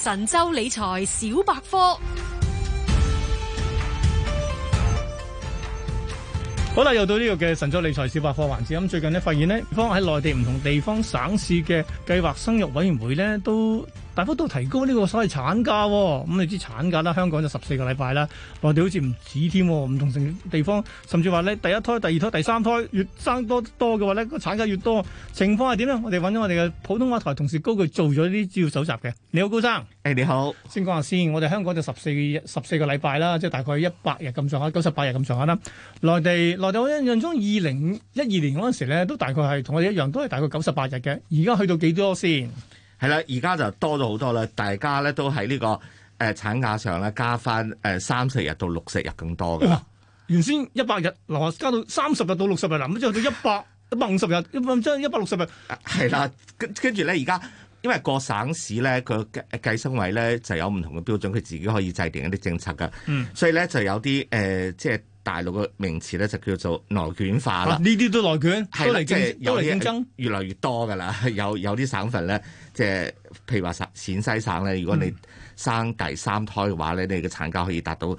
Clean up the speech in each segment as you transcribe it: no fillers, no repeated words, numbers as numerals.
神州理財小百科。 好啦，又到呢個嘅神州理財小百科環節。咁最近呢，發現呢，喺內地唔同地方省市嘅計劃生育委員會呢，都大幅度提高呢個所謂產假。咁你知產假啦，香港就14個禮拜啦，內地好似唔止添，唔同地方甚至話呢，第一胎、第二胎、第三胎越生多嘅話呢，個產假越多。情況係點呢？我哋揾咗我哋嘅普通話台同事高炬做咗啲資料搜集嘅。你好，高生。 你好。先講下先，我哋香港就14個禮拜啦，即係大概100日咁上下，98日咁上下啦。內地我印象中2012年嗰陣時咧，都大概係同我哋一樣，都係大概98日嘅。而家去到幾多先？ 係啦，而家就多咗好多啦。大家咧都喺呢個產假上咧加翻30日到60日更多嘅。 原先100日，加到30日到60日，咁之後到150日，即係160日。 係啦，跟住咧，而家因為各省市咧個計生委咧就有唔同嘅標準，佢自己可以制定一啲政策㗎。所以咧就有啲即係大陸嘅名詞咧就叫做內卷化啦。 呢啲都內卷，都嚟競爭， 越來越多㗎啦。有啲省份咧，即係譬如話陝西省咧，如果你生第三胎嘅話咧，你嘅產假可以達到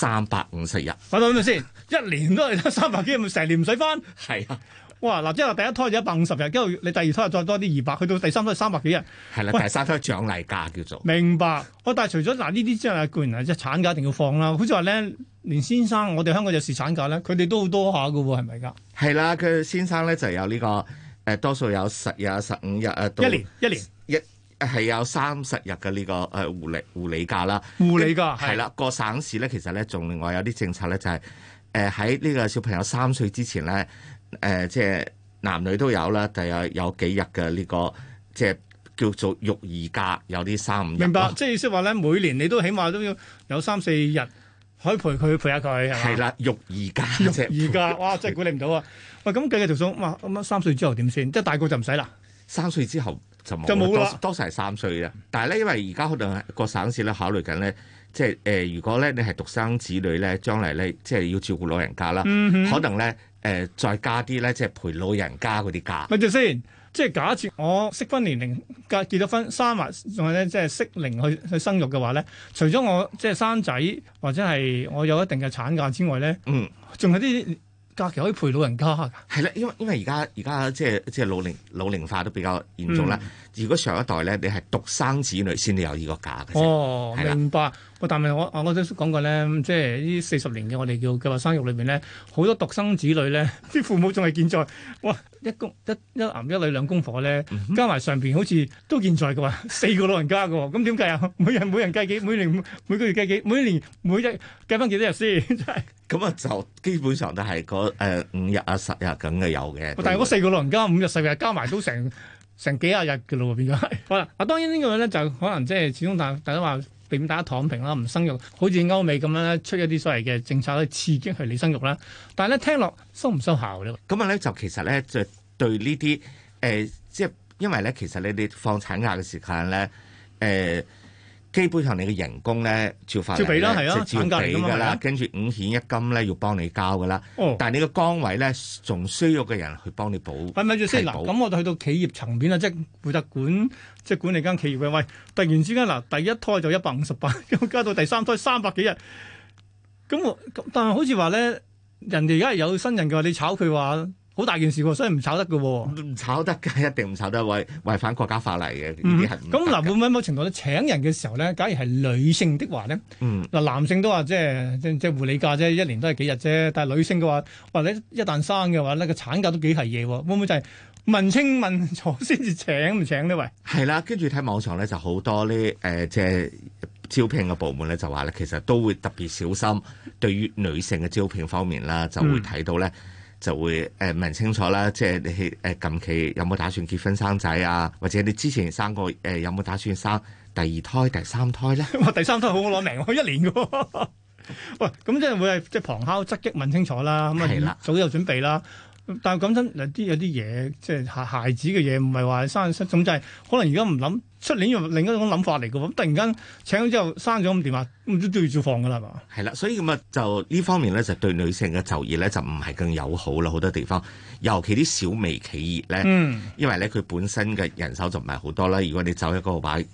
350日。 等咪先，一年都係得300幾日，咪成年唔使翻。 係啊。 哇！嗱，即係話第一胎就150日，跟住你第二胎再多啲200，去到第三胎300幾日。 係啦，第三胎獎勵假叫做。 明白。但係除咗呢啲之外，固然係即係產假一定要放啦。好似話咧，連先生，我哋香港有侍產假咧，佢哋都好多下㗎喎，係咪㗎？ 係啦，佢先生咧就有呢個多數有10日、15日啊， 一年係有30日嘅呢個護理假啦。 護理假係啦，個省市咧其實咧仲另外有啲政策咧，就係喺呢個小朋友3歲之前咧。即係男女都有啦，但係有幾日嘅呢個即係叫做育兒假，有啲3、5日。 明白，即係意思話咧，每年你都起碼都要有3、4日可以陪下佢，係嘛？ 係啦，育兒假， 育兒假，哇！真係估你唔到啊！喂，咁計條數，哇！咁3歲之後點先？即係大個就唔使啦。 3歲之後就冇啦， 多數係3歲啦。但係咧，因為而家可能個省市咧考慮緊咧。即係如果咧你係獨生子女咧，將來咧即係要照顧老人家啦，可能咧再加啲咧即係陪老人家嗰啲假。 咪住先，即係假設我適婚年齡結咗婚生埋，仲係咧即係適齡去生育嘅話咧，除咗我即係生仔或者係我有一定嘅產假之外咧，仲有啲假期可以陪老人家㗎。 係啦，因為而家即係老齡化都比較嚴重啦。如果上一代咧你係獨生子女先至有呢個假嘅。 哦，明白。但係我都講過咧，即係呢40年嘅我哋叫計劃生育裏邊咧，好多獨生子女咧，啲父母仲係健在。哇，一男一女兩公婆咧，加埋上邊好似都健在嘅話，4個老人家嘅喎，咁點計啊？每人計幾？每年每個月計幾？每年每日計翻幾多日先？真係。 咁啊，就基本上都係嗰5日啊10日咁嘅有嘅。 但係嗰4個老人家5日10日加埋都成幾廿日嘅咯喎，變咗係。好啦，當然呢個咧就可能即係始終大家話。避免大家躺平啦，唔生育，好似歐美咁樣咧，出一啲所謂嘅政策去刺激你生育啦。但係咧聽落收唔收效咧？ 咁啊咧就其實咧就對呢啲即係因為咧其實你放產假嘅時間咧基本上你嘅人工咧照俾啦，係啊，照俾㗎啦，跟住5險1金咧要幫你交㗎啦。但係你個崗位咧仲需要嘅人去幫你補。 咪住先嗱，咁我哋去到企業層面啦，即係負責管理間企業嘅。喂，突然之間嗱，第一胎就158，加到第三胎300幾日。但係好似話咧，人哋而家係有新人嘅話，你炒佢話。好大件事喎，所以唔炒得嘅喎。 唔炒得嘅，一定唔炒得，違反國家法例嘅。呢啲係唔得嘅。咁嗱，會唔會某程度咧請人嘅時候咧，假如係女性的話咧，男性都話即係護理假啫，一年都係幾日啫。但係女性嘅話，或者一旦生嘅話咧，個產假都幾係嘢喎。會唔會就係問清問楚先至請唔請呢？喂， 係啦，跟住睇網上咧就好多呢即係招聘嘅部門咧就話咧，其實都會特別小心對於女性嘅招聘方面啦，就會睇到咧。就會問清楚啦，即係你近期有冇打算結婚生仔啊？或者你之前生過有冇打算生第2胎、第3胎咧？ 哇！第3胎好攞命，我1年嘅喎。喂，咁即係會係即係旁敲側擊問清楚啦，咁啊早有準備啦。但係講真，有啲嘢即係孩子嘅嘢，唔係話生咁就係可能而家唔諗，出年用另一種諗法嚟嘅喎。咁突然間請咗之後生咗咁點啊？咁都要照放㗎啦，係嘛？ 係啦，所以咁啊就呢方面咧就對女性嘅就業咧就唔係更友好啦，好多地方，尤其啲小微企業咧，因為咧佢本身嘅人手就唔係好多啦。如果你走一個話，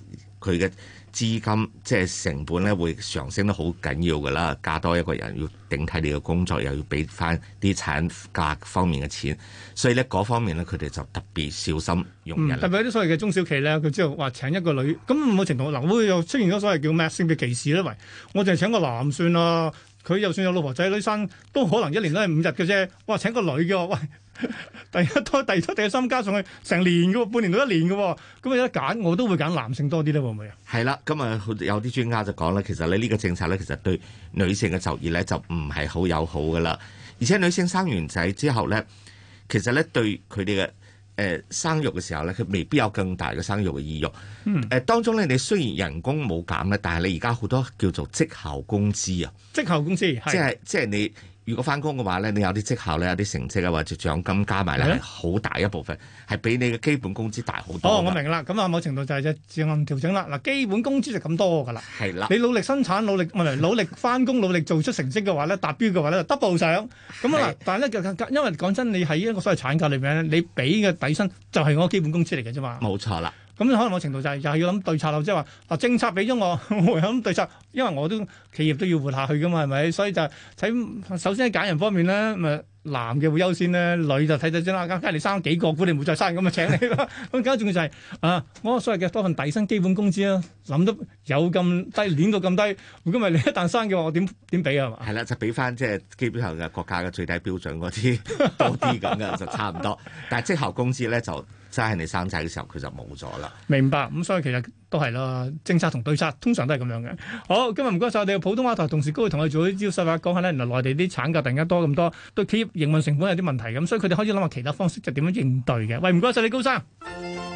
佢嘅資金即係成本咧會上升得好緊要㗎啦，加多一個人要頂替你嘅工作，又要俾翻啲產價方面嘅錢，所以咧嗰方面咧佢哋就特別小心用人。 特別有啲所謂嘅中小企咧，佢之後話請一個女，咁某程度嗱會又出現咗所謂叫咩性別歧視咧？喂，我淨係請個男算啦，佢就算有老婆仔女生，都可能一年都係5日嘅啫。哇，請個女嘅，喂！第一胎、第二胎、第三加上去成年嘅喎，半年到1年嘅喎，咁有得揀，我都會揀男性多啲咧，會唔會啊？ 係啦，今日有啲專家就講咧，其實咧呢個政策咧，其實對女性嘅就業咧就唔係好友好噶啦，而且女性生完仔之後咧，其實咧對佢哋嘅生育嘅時候咧，佢未必有更大嘅生育嘅意欲。當中咧，你雖然人工冇減咧，但係你而家好多叫做績效工資啊， 績效工資即係你。如果翻工嘅話咧，你有啲績效咧，有啲成績啊，或者獎金加埋咧，係好大一部分，係比你嘅基本工資大好多。 哦，我明啦，咁啊某程度就係隻自行調整啦。嗱，基本工資就咁多㗎啦。係啦，你努力生產、努力翻工、努力做出成績嘅話咧，達標嘅話咧，double 上。咁啊，但係咧，因為講真，你喺一個所謂產假裏邊咧，你俾嘅底薪就係我基本工資嚟嘅啫嘛。冇錯啦。咁可能某程度就係又係要諗對策咯，即係話嗱政策俾咗我，我諗對策，因為我都企業都要活下去噶嘛，係咪？所以就睇首先喺揀人方面咧，咪男嘅會優先咧，女就睇睇先啦。梗係你生幾個，估你唔會再生咁啊，請你啦。咁更加重要就係我所謂嘅多份底薪基本工資啊，諗到有咁低，攣到咁低，如果唔係你一旦生嘅話，我點俾啊？係嘛？係啦，就俾翻即係基本上嘅國家嘅最低標準嗰啲多啲咁嘅就差唔多。但係績效工資咧就。真係你生仔嘅時候，佢就冇咗啦。明白，咁所以其實都係啦，政策同對策通常都係咁樣嘅。好，今日唔該晒我哋嘅普通話台同事高，同我哋做啲招細話講下咧，原來內地啲產假突然間多咁多，對企業營運成本有啲問題咁，所以佢哋開始諗下其他方式就點樣應對嘅。喂，唔該晒你高生。